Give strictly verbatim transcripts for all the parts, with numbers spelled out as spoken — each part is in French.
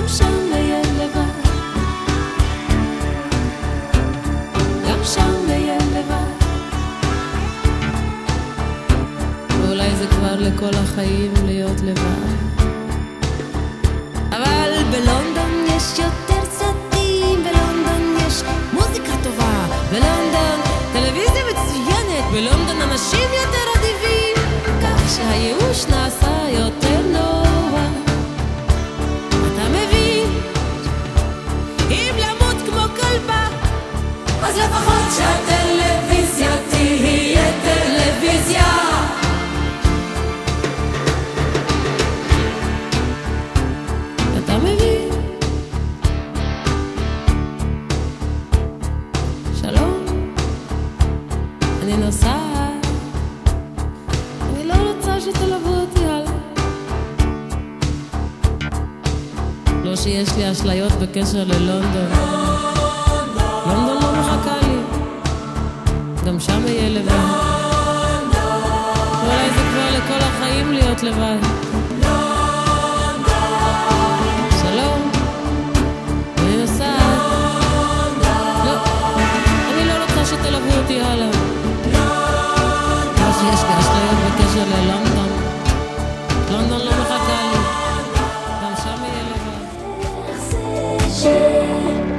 גם שם אהיה לבד, גם שם אהיה לבד. ואולי זה כבר לכל החיים להיות לבד. אבל בלונדון יש יותר סרטים, בלונדון יש מוזיקה טובה, בלונדון טלוויזיה מצוינת, בלונדון אנשים יותר אדיבים, כך שהייאוש נעשה יותר נורא. אתה מבין? אם למות כמו כלבה, אז לפחות שהטלוויזיה תהיה טלוויזיה. אתה מבין? שלום, אני נוסעת, אני לא רוצה שתלוו אותי הלאה. לא שיש לי אשליות בקשר ללונדון, לונדון לא מחכה לי, גם שם אהיה לבד. אולי זה כבר לכל החיים להיות לבד. שלום, אני נוסעת, לא, אני לא רוצה שתלוו אותי הלאה. לא שיש לי אשליות בקשר ללונדון, לונדון לא מחכה לי, גם שם אהיה לבד.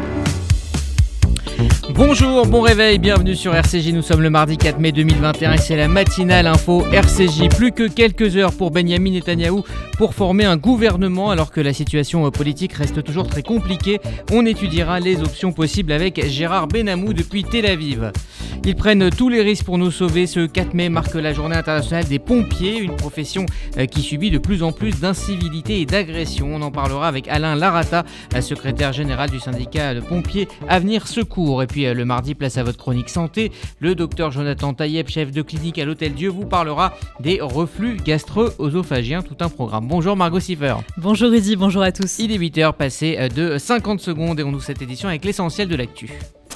Bonjour, bon réveil, bienvenue sur R C J, nous sommes le mardi quatre mai deux mille vingt et un et c'est la matinale info R C J. Plus que quelques heures pour Benyamin Netanyahou pour former un gouvernement alors que la situation politique reste toujours très compliquée. On étudiera les options possibles avec Gérard Benamou depuis Tel Aviv. Ils prennent tous les risques pour nous sauver. Ce quatre mai marque la journée internationale des pompiers, une profession qui subit de plus en plus d'incivilité et d'agression. On en parlera avec Alain Larata, secrétaire général du syndicat de pompiers Avenir Secours. Et puis le mardi, place à votre chronique santé. Le docteur Jonathan Taïeb, chef de clinique à l'Hôtel Dieu, vous parlera des reflux gastro-œsophagiens, tout un programme. Bonjour Margot Siffer. Bonjour Rudy, bonjour à tous. Il est huit heures passées de cinquante secondes et on ouvre cette édition avec l'essentiel de l'actu.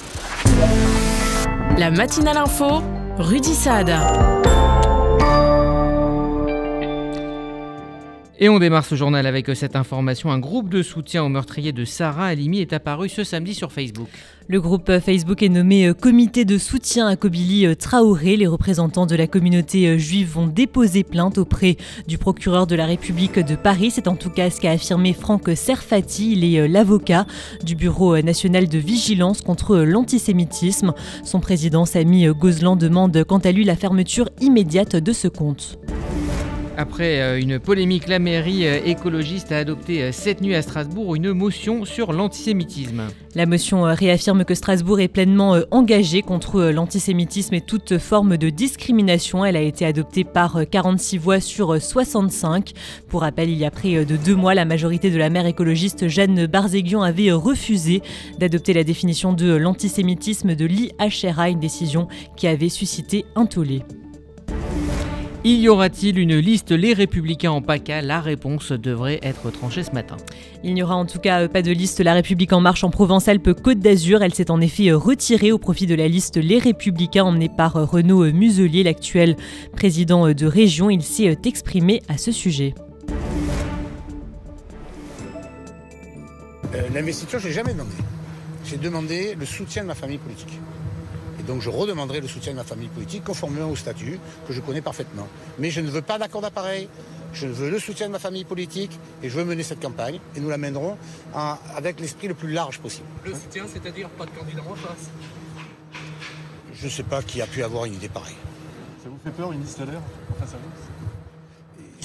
La matinale info, Rudy Saad. Et on démarre ce journal avec cette information. Un groupe de soutien aux meurtriers de Sarah Halimi est apparu ce samedi sur Facebook. Le groupe Facebook est nommé Comité de soutien à Kobili Traoré. Les représentants de la communauté juive vont déposer plainte auprès du procureur de la République de Paris. C'est en tout cas ce qu'a affirmé Franck Serfati. Il est l'avocat du Bureau national de vigilance contre l'antisémitisme. Son président Sami Gozlan demande quant à lui la fermeture immédiate de ce compte. Après une polémique, la mairie écologiste a adopté cette nuit à Strasbourg une motion sur l'antisémitisme. La motion réaffirme que Strasbourg est pleinement engagée contre l'antisémitisme et toute forme de discrimination. Elle a été adoptée par quarante-six voix sur soixante-cinq. Pour rappel, il y a près de deux mois, la majorité de la maire écologiste Jeanne Barzéguian avait refusé d'adopter la définition de l'antisémitisme de l'I H R A, une décision qui avait suscité un tollé. Y aura-t-il une liste Les Républicains en PACA ? La réponse devrait être tranchée ce matin. Il n'y aura en tout cas pas de liste La République en marche en Provence-Alpes-Côte d'Azur. Elle s'est en effet retirée au profit de la liste Les Républicains emmenée par Renaud Muselier, l'actuel président de région. Il s'est exprimé à ce sujet. Euh, l'investiture, je n'ai jamais demandé. J'ai demandé le soutien de ma famille politique. Et donc je redemanderai le soutien de ma famille politique conformément au statut que je connais parfaitement. Mais je ne veux pas d'accord d'appareil, je veux le soutien de ma famille politique et je veux mener cette campagne. Et nous la mènerons en, avec l'esprit le plus large possible. Le soutien, c'est-à-dire pas de candidat en face ? Je ne sais pas qui a pu avoir une idée pareille. Ça vous fait peur, une liste L R en face à vous ?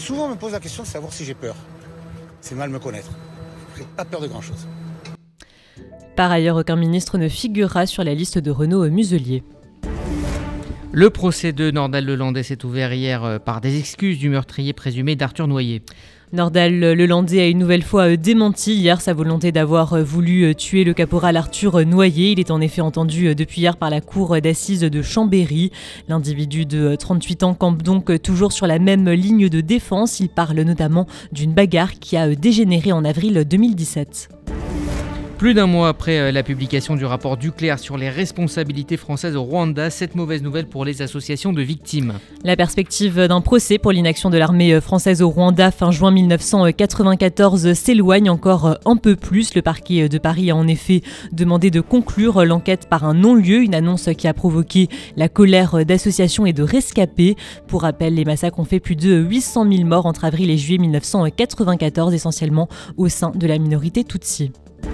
Souvent on me pose la question de savoir si j'ai peur. C'est mal me connaître. Je n'ai pas peur de grand-chose. Par ailleurs, aucun ministre ne figurera sur la liste de Renaud Muselier. Le procès de Nordal Lelandais s'est ouvert hier par des excuses du meurtrier présumé d'Arthur Noyer. Nordal Lelandais a une nouvelle fois démenti hier sa volonté d'avoir voulu tuer le caporal Arthur Noyer. Il est en effet entendu depuis hier par la cour d'assises de Chambéry. L'individu de trente-huit ans campe donc toujours sur la même ligne de défense. Il parle notamment d'une bagarre qui a dégénéré en avril deux mille dix-sept. Plus d'un mois après la publication du rapport Duclerc sur les responsabilités françaises au Rwanda, cette mauvaise nouvelle pour les associations de victimes. La perspective d'un procès pour l'inaction de l'armée française au Rwanda fin juin mille neuf cent quatre-vingt-quatorze s'éloigne encore un peu plus. Le parquet de Paris a en effet demandé de conclure l'enquête par un non-lieu, une annonce qui a provoqué la colère d'associations et de rescapés. Pour rappel, les massacres ont fait plus de huit cent mille morts entre avril et juillet mille neuf cent quatre-vingt-quatorze, essentiellement au sein de la minorité Tutsi.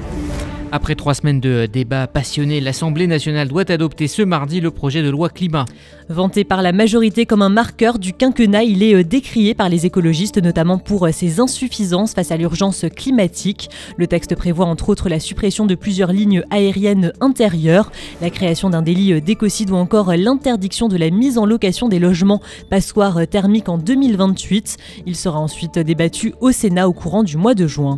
Après trois semaines de débats passionnés, l'Assemblée nationale doit adopter ce mardi le projet de loi climat. Vanté par la majorité comme un marqueur du quinquennat, il est décrié par les écologistes, notamment pour ses insuffisances face à l'urgence climatique. Le texte prévoit entre autres la suppression de plusieurs lignes aériennes intérieures, la création d'un délit d'écocide ou encore l'interdiction de la mise en location des logements passoires thermiques en deux mille vingt-huit. Il sera ensuite débattu au Sénat au courant du mois de juin.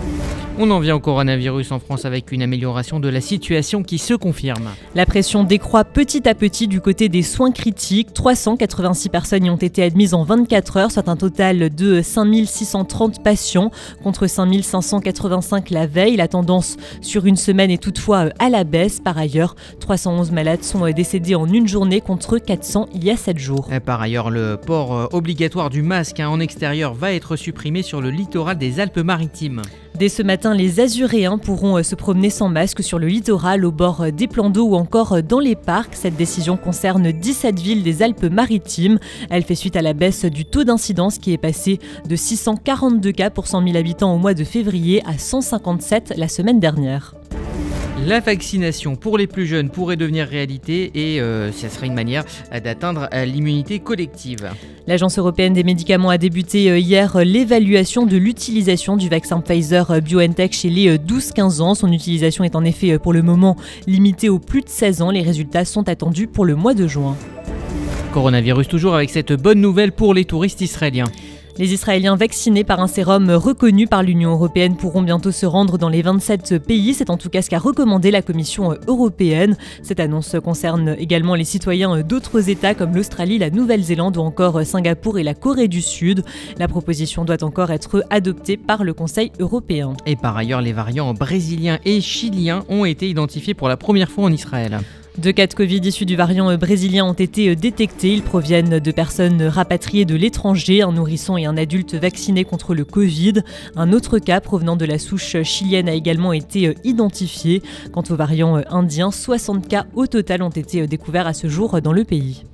On en vient au coronavirus en France avec une amélioration de la situation qui se confirme. La pression décroît petit à petit du côté des soins critiques. trois cent quatre-vingt-six personnes y ont été admises en vingt-quatre heures, soit un total de cinq mille six cent trente patients contre cinq mille cinq cent quatre-vingt-cinq la veille. La tendance sur une semaine est toutefois à la baisse. Par ailleurs, trois cent onze malades sont décédés en une journée contre quatre cents il y a sept jours. Par ailleurs, le port obligatoire du masque en extérieur va être supprimé sur le littoral des Alpes-Maritimes. Dès ce matin, les Azuréens pourront se promener sans masque sur le littoral, au bord des plans d'eau ou encore dans les parcs. Cette décision concerne dix-sept villes des Alpes-Maritimes. Elle fait suite à la baisse du taux d'incidence qui est passé de six cent quarante-deux cas pour cent mille habitants au mois de février à cent cinquante-sept la semaine dernière. La vaccination pour les plus jeunes pourrait devenir réalité et euh, ça serait une manière d'atteindre l'immunité collective. L'Agence européenne des médicaments a débuté hier l'évaluation de l'utilisation du vaccin Pfizer-BioNTech chez les douze quinze ans. Son utilisation est en effet pour le moment limitée aux plus de seize ans. Les résultats sont attendus pour le mois de juin. Coronavirus toujours avec cette bonne nouvelle pour les touristes israéliens. Les Israéliens vaccinés par un sérum reconnu par l'Union européenne pourront bientôt se rendre dans les vingt-sept pays. C'est en tout cas ce qu'a recommandé la Commission européenne. Cette annonce concerne également les citoyens d'autres États comme l'Australie, la Nouvelle-Zélande ou encore Singapour et la Corée du Sud. La proposition doit encore être adoptée par le Conseil européen. Et par ailleurs, les variants brésiliens et chiliens ont été identifiés pour la première fois en Israël. Deux cas de Covid issus du variant brésilien ont été détectés. Ils proviennent de personnes rapatriées de l'étranger, un nourrisson et un adulte vaccinés contre le Covid. Un autre cas provenant de la souche chilienne a également été identifié. Quant au variant indien, soixante cas au total ont été découverts à ce jour dans le pays.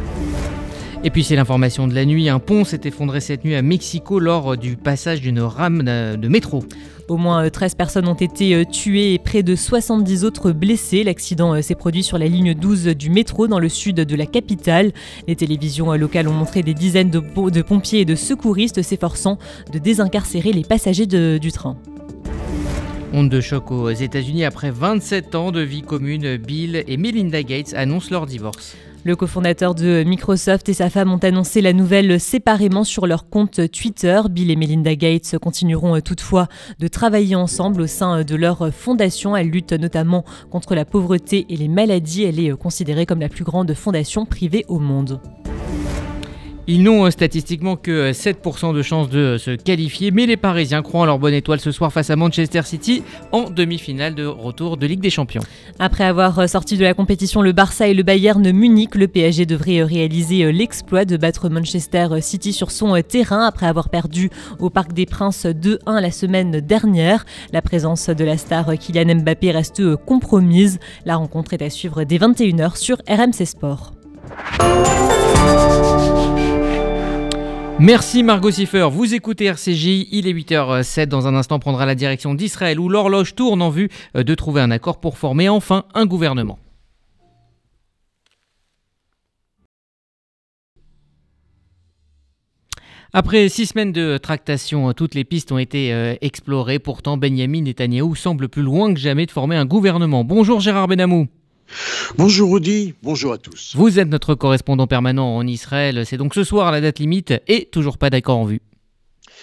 Et puis c'est l'information de la nuit, un pont s'est effondré cette nuit à Mexico lors du passage d'une rame de métro. Au moins treize personnes ont été tuées et près de soixante-dix autres blessées. L'accident s'est produit sur la ligne douze du métro dans le sud de la capitale. Les télévisions locales ont montré des dizaines de, de pompiers et de secouristes s'efforçant de désincarcérer les passagers de, du train. Onde de choc aux États-Unis après vingt-sept ans de vie commune, Bill et Melinda Gates annoncent leur divorce. Le cofondateur de Microsoft et sa femme ont annoncé la nouvelle séparément sur leur compte Twitter. Bill et Melinda Gates continueront toutefois de travailler ensemble au sein de leur fondation. Elle lutte notamment contre la pauvreté et les maladies. Elle est considérée comme la plus grande fondation privée au monde. Ils n'ont statistiquement que sept pour cent de chances de se qualifier, mais les Parisiens croient en leur bonne étoile ce soir face à Manchester City en demi-finale de retour de Ligue des Champions. Après avoir sorti de la compétition le Barça et le Bayern Munich, le P S G devrait réaliser l'exploit de battre Manchester City sur son terrain après avoir perdu au Parc des Princes deux un la semaine dernière. La présence de la star Kylian Mbappé reste compromise. La rencontre est à suivre dès vingt et une heures sur R M C Sport. Merci Margot Siffer, vous écoutez R C J, il est huit heures zéro sept, dans un instant prendra la direction d'Israël où l'horloge tourne en vue de trouver un accord pour former enfin un gouvernement. Après six semaines de tractation, toutes les pistes ont été euh, explorées. Pourtant, Benyamin Netanyahou semble plus loin que jamais de former un gouvernement. Bonjour Gérard Benamou. Bonjour Rudy, bonjour à tous. Vous êtes notre correspondant permanent en Israël. C'est donc ce soir la date limite et toujours pas d'accord en vue.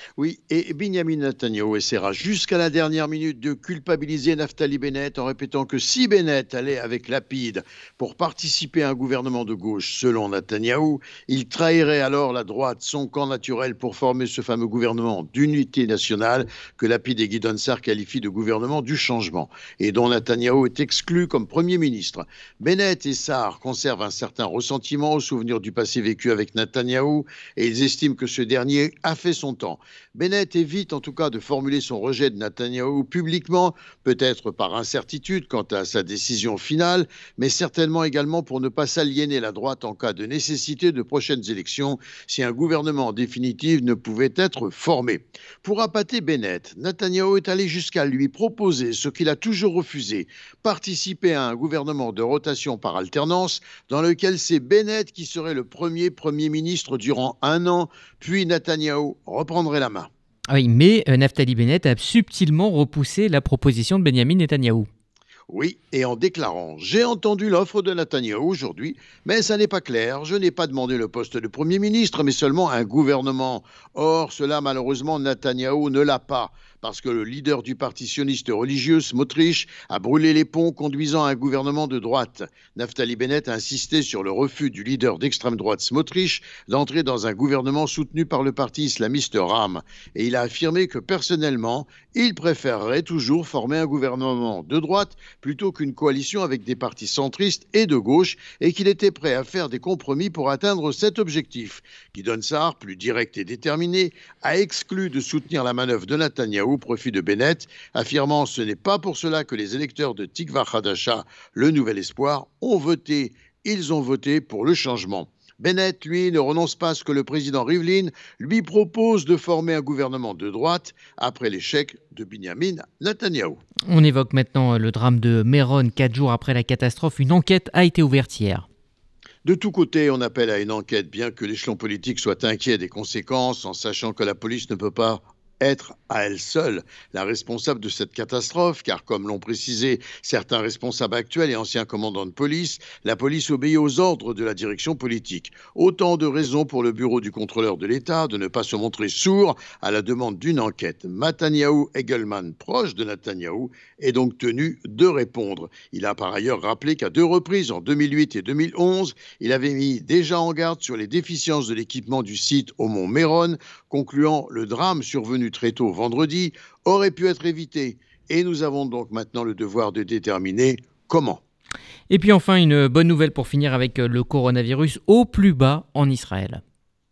Oui, et Benjamin Netanyahu essaiera jusqu'à la dernière minute de culpabiliser Naftali Bennett en répétant que si Bennett allait avec Lapid pour participer à un gouvernement de gauche, selon Netanyahu, il trahirait alors la droite, son camp naturel, pour former ce fameux gouvernement d'unité nationale que Lapid et Gideon Sa'ar qualifient de gouvernement du changement et dont Netanyahu est exclu comme Premier ministre. Bennett et Sa'ar conservent un certain ressentiment au souvenir du passé vécu avec Netanyahu et ils estiment que ce dernier a fait son temps. Bennett évite en tout cas de formuler son rejet de Netanyahou publiquement, peut-être par incertitude quant à sa décision finale, mais certainement également pour ne pas s'aliéner la droite en cas de nécessité de prochaines élections si un gouvernement définitif ne pouvait être formé. Pour appâter Bennett, Netanyahou est allé jusqu'à lui proposer ce qu'il a toujours refusé, participer à un gouvernement de rotation par alternance dans lequel c'est Bennett qui serait le premier Premier ministre durant un an, puis Netanyahou reprendrait la main. Oui, mais euh, Naftali Bennett a subtilement repoussé la proposition de Benjamin Netanyahou. Oui, et en déclarant « J'ai entendu l'offre de Netanyahou aujourd'hui, mais ça n'est pas clair. Je n'ai pas demandé le poste de Premier ministre, mais seulement un gouvernement. Or, cela, malheureusement, Netanyahou ne l'a pas, parce que le leader du parti sioniste religieux, Smotrich, a brûlé les ponts conduisant à un gouvernement de droite. Naftali Bennett a insisté sur le refus du leader d'extrême droite, Smotrich, d'entrer dans un gouvernement soutenu par le parti islamiste RAM. Et il a affirmé que, personnellement, il préférerait toujours former un gouvernement de droite plutôt qu'une coalition avec des partis centristes et de gauche, et qu'il était prêt à faire des compromis pour atteindre cet objectif. Gideon Sa'ar, plus direct et déterminé, a exclu de soutenir la manœuvre de Netanyahou au profit de Bennett, affirmant « Ce n'est pas pour cela que les électeurs de Tikva Hadasha, le Nouvel Espoir, ont voté. Ils ont voté pour le changement. » Bennett, lui, ne renonce pas à ce que le président Rivlin lui propose de former un gouvernement de droite après l'échec de Benjamin Netanyahou. On évoque maintenant le drame de Méron. Quatre jours après la catastrophe, une enquête a été ouverte hier. De tous côtés, on appelle à une enquête, bien que l'échelon politique soit inquiet des conséquences, en sachant que la police ne peut pas être à elle seule la responsable de cette catastrophe, car comme l'ont précisé certains responsables actuels et anciens commandants de police, la police obéit aux ordres de la direction politique. Autant de raisons pour le bureau du contrôleur de l'État de ne pas se montrer sourd à la demande d'une enquête. Mataniaou Egelman, proche de Netanyahou, est donc tenu de répondre. Il a par ailleurs rappelé qu'à deux reprises, en deux mille huit et deux mille onze, il avait mis déjà en garde sur les déficiences de l'équipement du site au mont Méron, concluant le drame survenu très tôt vendredi aurait pu être évité. Et nous avons donc maintenant le devoir de déterminer comment. Et puis enfin, une bonne nouvelle pour finir avec le coronavirus au plus bas en Israël.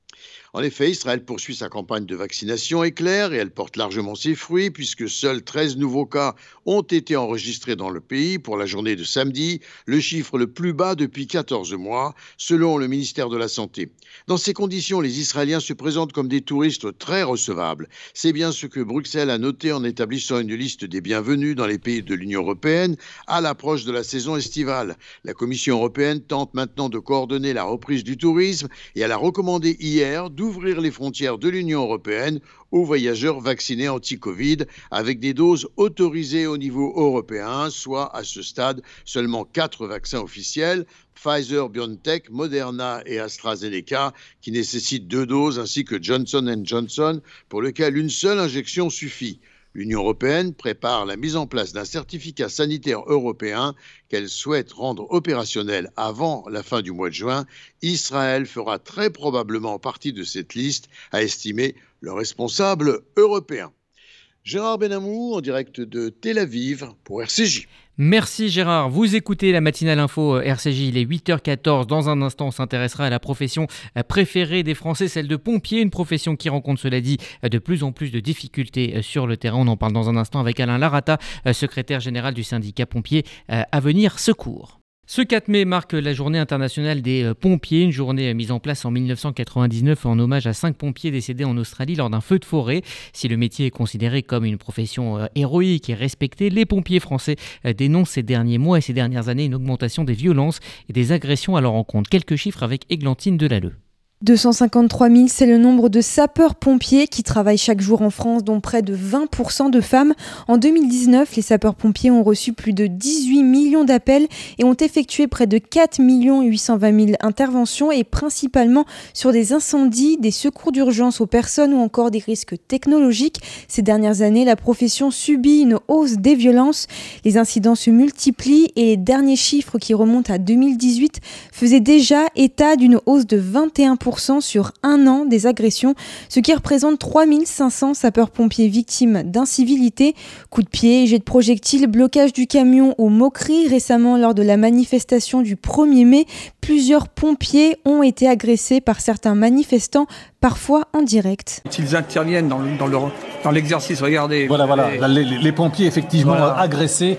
En effet, Israël poursuit sa campagne de vaccination éclair et elle porte largement ses fruits puisque seuls treize nouveaux cas ont été enregistrés dans le pays pour la journée de samedi, le chiffre le plus bas depuis quatorze mois, selon le ministère de la Santé. Dans ces conditions, les Israéliens se présentent comme des touristes très recevables. C'est bien ce que Bruxelles a noté en établissant une liste des bienvenus dans les pays de l'Union européenne à l'approche de la saison estivale. La Commission européenne tente maintenant de coordonner la reprise du tourisme et elle a recommandé hier d'ouvrir les frontières de l'Union européenne aux voyageurs vaccinés anti-Covid avec des doses autorisées au niveau européen, soit à ce stade seulement quatre vaccins officiels, Pfizer, BioNTech, Moderna et AstraZeneca, qui nécessitent deux doses, ainsi que Johnson and Johnson, pour lequel une seule injection suffit. L'Union européenne prépare la mise en place d'un certificat sanitaire européen qu'elle souhaite rendre opérationnel avant la fin du mois de juin. Israël fera très probablement partie de cette liste, a estimé le responsable européen. Gérard Benamou, en direct de Tel Aviv pour R C J. Merci Gérard. Vous écoutez la matinale info R C J, il est huit heures quatorze. Dans un instant, on s'intéressera à la profession préférée des Français, celle de pompier, une profession qui rencontre, cela dit, de plus en plus de difficultés sur le terrain. On en parle dans un instant avec Alain Larata, secrétaire général du syndicat pompier Avenir Secours. Ce quatre mai marque la journée internationale des pompiers, une journée mise en place en dix-neuf cent quatre-vingt-dix-neuf en hommage à cinq pompiers décédés en Australie lors d'un feu de forêt. Si le métier est considéré comme une profession héroïque et respectée, les pompiers français dénoncent ces derniers mois et ces dernières années une augmentation des violences et des agressions à leur encontre. Quelques chiffres avec Églantine Delalleux. deux cent cinquante-trois mille, c'est le nombre de sapeurs-pompiers qui travaillent chaque jour en France, dont près de vingt pour cent de femmes. En deux mille dix-neuf, les sapeurs-pompiers ont reçu plus de dix-huit millions d'appels et ont effectué près de quatre millions huit cent vingt mille interventions, et principalement sur des incendies, des secours d'urgence aux personnes ou encore des risques technologiques. Ces dernières années, la profession subit une hausse des violences. Les incidents se multiplient et les derniers chiffres, qui remontent à deux mille dix-huit, faisaient déjà état d'une hausse de vingt et un pour cent sur un an des agressions, ce qui représente trois mille cinq cents sapeurs-pompiers victimes d'incivilité. Coups de pied, jets de projectiles, blocage du camion ou moqueries. Récemment, lors de la manifestation du premier mai, plusieurs pompiers ont été agressés par certains manifestants, parfois en direct. S'ils interviennent dans, le, dans, le, dans l'exercice, regardez. Voilà, voilà, les, les, les pompiers effectivement voilà. agressés.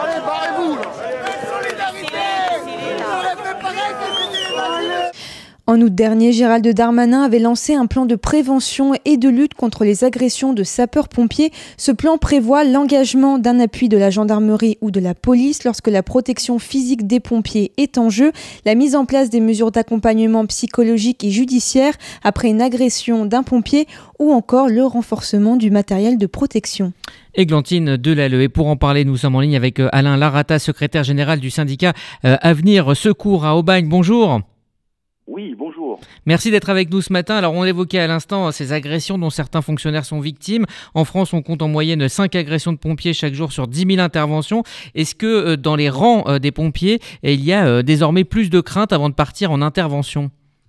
En août dernier, Gérald Darmanin avait lancé un plan de prévention et de lutte contre les agressions de sapeurs-pompiers. Ce plan prévoit l'engagement d'un appui de la gendarmerie ou de la police lorsque la protection physique des pompiers est en jeu, la mise en place des mesures d'accompagnement psychologique et judiciaire après une agression d'un pompier ou encore le renforcement du matériel de protection. Églantine Delalleux. Et pour en parler, nous sommes en ligne avec Alain Larata, secrétaire général du syndicat Avenir Secours à Aubagne. Bonjour. Oui, bonjour. Merci d'être avec nous ce matin. Alors, on évoquait à l'instant ces agressions dont certains fonctionnaires sont victimes. En France, on compte en moyenne cinq agressions de pompiers chaque jour sur dix mille interventions. Est-ce que dans les rangs des pompiers, il y a désormais plus de crainte avant de partir en intervention ?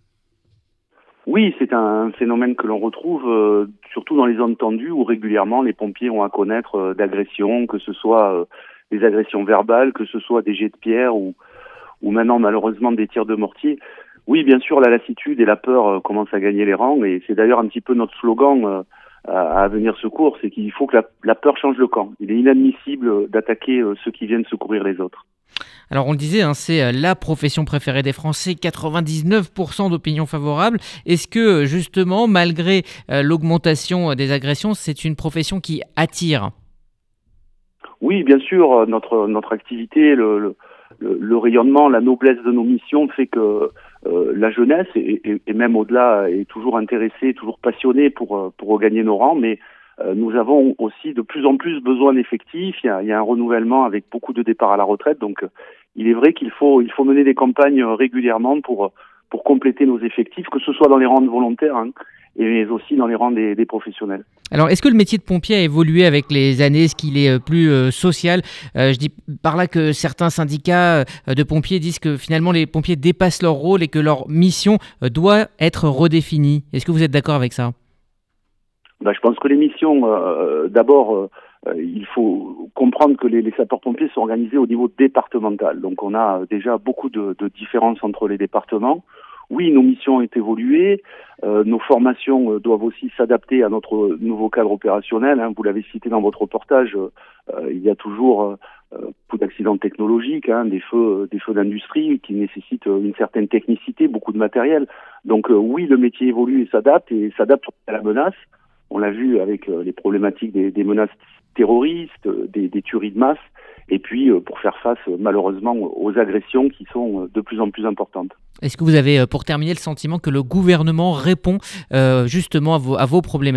Oui, c'est un phénomène que l'on retrouve euh, surtout dans les zones tendues où régulièrement les pompiers ont à connaître euh, d'agressions, que ce soit euh, des agressions verbales, que ce soit des jets de pierre ou, ou maintenant malheureusement des tirs de mortier. Oui, bien sûr, la lassitude et la peur euh, commencent à gagner les rangs, et c'est d'ailleurs un petit peu notre slogan euh, à, à Avenir Secours, c'est qu'il faut que la, la peur change le camp. Il est inadmissible d'attaquer euh, ceux qui viennent secourir les autres. Alors on le disait, hein, c'est la profession préférée des Français, quatre-vingt-dix-neuf pour cent d'opinions favorables. Est-ce que justement, malgré euh, l'augmentation des agressions, c'est une profession qui attire ? Oui, bien sûr, notre, notre activité, le, le, le rayonnement, la noblesse de nos missions fait que Euh, la jeunesse, et, et, et même au-delà, est toujours intéressée, toujours passionnée pour, pour regagner nos rangs, mais euh, nous avons aussi de plus en plus besoin d'effectifs. Il y a, il y a un renouvellement avec beaucoup de départs à la retraite, donc euh, il est vrai qu'il faut, il faut mener des campagnes régulièrement pour, pour compléter nos effectifs, que ce soit dans les rangs de volontaires, hein, et aussi dans les rangs des, des professionnels. Alors, est-ce que le métier de pompier a évolué avec les années ? Est-ce qu'il est plus euh, social ? euh, Je dis par là que certains syndicats euh, de pompiers disent que finalement les pompiers dépassent leur rôle et que leur mission euh, doit être redéfinie. Est-ce que vous êtes d'accord avec ça ? Ben, je pense que les missions, euh, d'abord, euh, il faut comprendre que les, les sapeurs-pompiers sont organisés au niveau départemental. Donc on a déjà beaucoup de, de différences entre les départements. Oui, nos missions ont évolué, euh, nos formations euh, doivent aussi s'adapter à notre nouveau cadre opérationnel. Hein. Vous l'avez cité dans votre reportage, euh, il y a toujours euh, beaucoup d'accidents technologiques, hein, des feux, des feux d'industrie qui nécessitent une certaine technicité, beaucoup de matériel. Donc euh, oui, le métier évolue et s'adapte, et s'adapte à la menace. On l'a vu avec euh, les problématiques des, des menaces terroristes, des, des tueries de masse, et puis euh, pour faire face euh, malheureusement aux agressions qui sont euh, de plus en plus importantes. Est-ce que vous avez, pour terminer, le sentiment que le gouvernement répond euh, justement à vos, à vos problématiques ?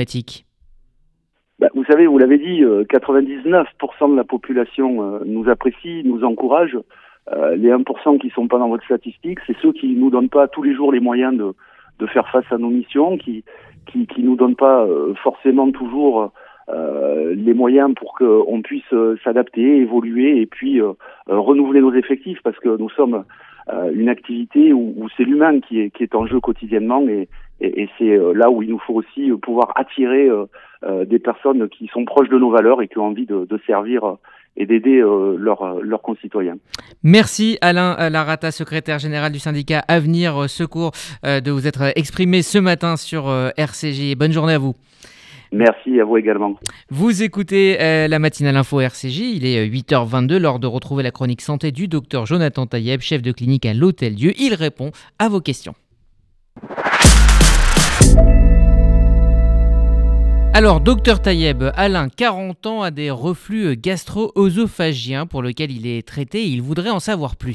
Ben, vous savez, vous l'avez dit, euh, quatre-vingt-dix-neuf pour cent de la population euh, nous apprécie, nous encourage. Euh, les un pour cent qui ne sont pas dans votre statistique, c'est ceux qui ne nous donnent pas tous les jours les moyens de, de faire face à nos missions, qui qui, qui nous donnent pas euh, forcément toujours euh, les moyens pour qu'on puisse euh, s'adapter, évoluer et puis euh, euh, renouveler nos effectifs, parce que nous sommes euh, une activité où, où c'est l'humain qui est, qui est en jeu quotidiennement, et, et, et c'est euh, là où il nous faut aussi pouvoir attirer euh, euh, des personnes qui sont proches de nos valeurs et qui ont envie de, de servir euh, et d'aider euh, leurs, leurs concitoyens. Merci Alain Larata, secrétaire général du syndicat Avenir Secours, euh, de vous être exprimé ce matin sur euh, R C J. Bonne journée à vous. Merci à vous également. Vous écoutez euh, la matinale info R C J, il est huit heures vingt-deux, l'heure de retrouver la chronique santé du docteur Jonathan Tayeb, chef de clinique à l'Hôtel-Dieu. Il répond à vos questions. Alors, docteur Tayeb, Alain, quarante ans, a des reflux gastro-œsophagiens pour lesquels il est traité et il voudrait en savoir plus.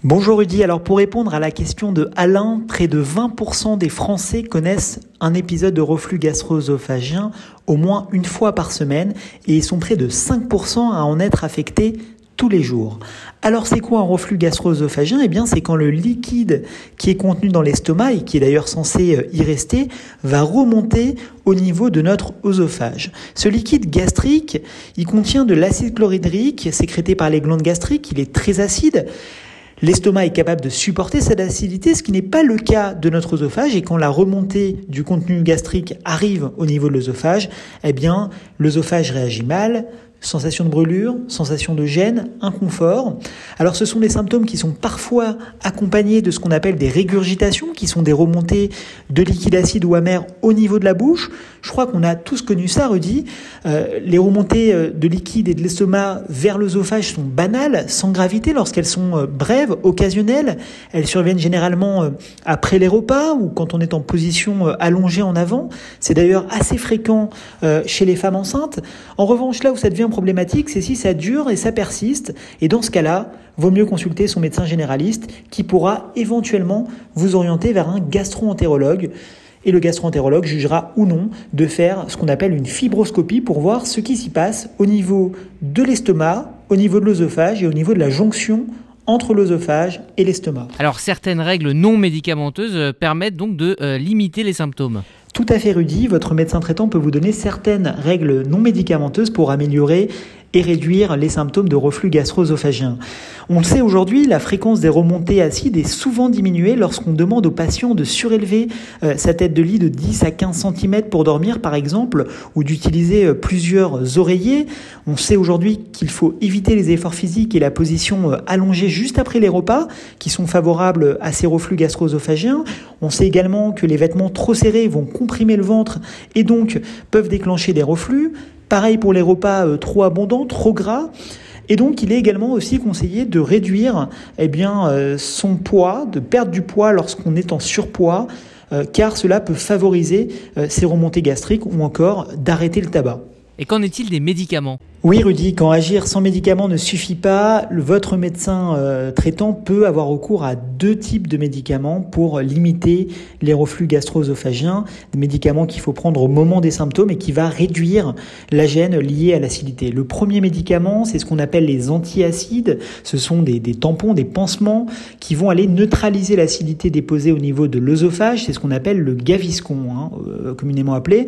Bonjour Rudy, alors pour répondre à la question de Alain, près de vingt pour cent des Français connaissent un épisode de reflux gastro-œsophagien au moins une fois par semaine et ils sont près de cinq pour cent à en être affectés tous les jours. Alors c'est quoi un reflux gastro-œsophagien ? Eh bien c'est quand le liquide qui est contenu dans l'estomac et qui est d'ailleurs censé y rester va remonter au niveau de notre œsophage. Ce liquide gastrique, il contient de l'acide chlorhydrique sécrété par les glandes gastriques, il est très acide. L'estomac est capable de supporter cette acidité, ce qui n'est pas le cas de notre œsophage. Et quand la remontée du contenu gastrique arrive au niveau de l'œsophage, eh bien, l'œsophage réagit mal. Sensation de brûlure, sensation de gêne, inconfort. Alors ce sont des symptômes qui sont parfois accompagnés de ce qu'on appelle des régurgitations, qui sont des remontées de liquide acide ou amer au niveau de la bouche. Je crois qu'on a tous connu ça, Rudy. Euh, les remontées de liquide et de l'estomac vers l'œsophage sont banales, sans gravité, lorsqu'elles sont brèves, occasionnelles. Elles surviennent généralement après les repas ou quand on est en position allongée en avant. C'est d'ailleurs assez fréquent euh, chez les femmes enceintes. En revanche, là où ça devient problématique, c'est si ça dure et ça persiste. Et dans ce cas-là, vaut mieux consulter son médecin généraliste qui pourra éventuellement vous orienter vers un gastro-entérologue. Et le gastro-entérologue jugera ou non de faire ce qu'on appelle une fibroscopie pour voir ce qui s'y passe au niveau de l'estomac, au niveau de l'œsophage et au niveau de la jonction entre l'œsophage et l'estomac. Alors certaines règles non médicamenteuses permettent donc de euh, limiter les symptômes. Tout à fait Rudy, votre médecin traitant peut vous donner certaines règles non médicamenteuses pour améliorer et réduire les symptômes de reflux gastro-œsophagien. On le sait aujourd'hui, la fréquence des remontées acides est souvent diminuée lorsqu'on demande aux patients de surélever euh, sa tête de lit de dix à quinze centimètres pour dormir par exemple, ou d'utiliser euh, plusieurs oreillers. On sait aujourd'hui qu'il faut éviter les efforts physiques et la position euh, allongée juste après les repas, qui sont favorables à ces reflux gastro-œsophagiens. On sait également que les vêtements trop serrés vont comprimer le ventre et donc peuvent déclencher des reflux. Pareil pour les repas euh, trop abondants, trop gras. Et donc, il est également aussi conseillé de réduire eh bien, euh, son poids, de perdre du poids lorsqu'on est en surpoids, euh, car cela peut favoriser euh, ces remontées gastriques ou encore d'arrêter le tabac. Et qu'en est-il des médicaments ? Oui Rudy, quand agir sans médicaments ne suffit pas, le, votre médecin euh, traitant peut avoir recours à deux types de médicaments pour limiter les reflux gastro-œsophagiens, des médicaments qu'il faut prendre au moment des symptômes et qui va réduire la gêne liée à l'acidité. Le premier médicament, c'est ce qu'on appelle les antiacides, ce sont des, des tampons, des pansements qui vont aller neutraliser l'acidité déposée au niveau de l'œsophage, c'est ce qu'on appelle le Gaviscon, hein, euh, communément appelé.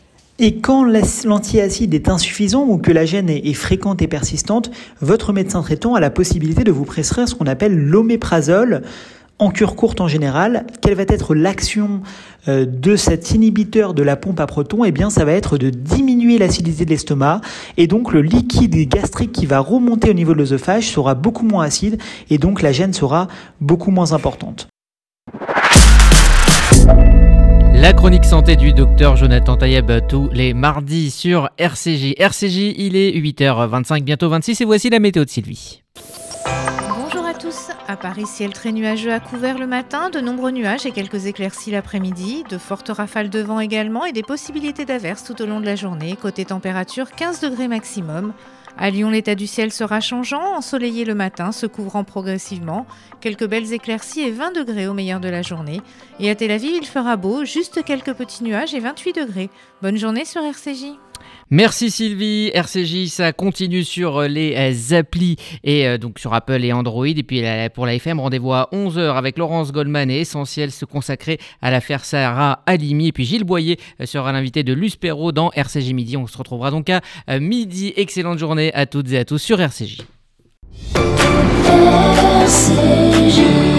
Et quand l'antiacide est insuffisant ou que la gêne est fréquente et persistante, votre médecin traitant a la possibilité de vous prescrire ce qu'on appelle l'oméprazole, en cure courte en général. Quelle va être l'action de cet inhibiteur de la pompe à protons ? Eh bien, ça va être de diminuer l'acidité de l'estomac et donc le liquide gastrique qui va remonter au niveau de l'œsophage sera beaucoup moins acide et donc la gêne sera beaucoup moins importante. La chronique santé du docteur Jonathan Tayeb tous les mardis sur R C J. R C J, il est huit heures vingt-cinq, bientôt vingt-six et voici la météo de Sylvie. Bonjour à tous. À Paris, ciel très nuageux à couvert le matin, de nombreux nuages et quelques éclaircies l'après-midi, de fortes rafales de vent également et des possibilités d'averses tout au long de la journée. Côté température, quinze degrés maximum. À Lyon, l'état du ciel sera changeant, ensoleillé le matin, se couvrant progressivement. Quelques belles éclaircies et vingt degrés au meilleur de la journée. Et à Tel Aviv, il fera beau, juste quelques petits nuages et vingt-huit degrés. Bonne journée sur R C J. Merci Sylvie. R C J, ça continue sur les applis et euh, donc sur Apple et Android. Et puis pour la F M, rendez-vous à onze heures avec Laurence Goldman et Essentiel se consacrer à l'affaire Sarah Halimi. Et puis Gilles Boyer sera l'invité de Luce Perrault dans R C J Midi. On se retrouvera donc à midi. Excellente journée à toutes et à tous sur R C J. R C J.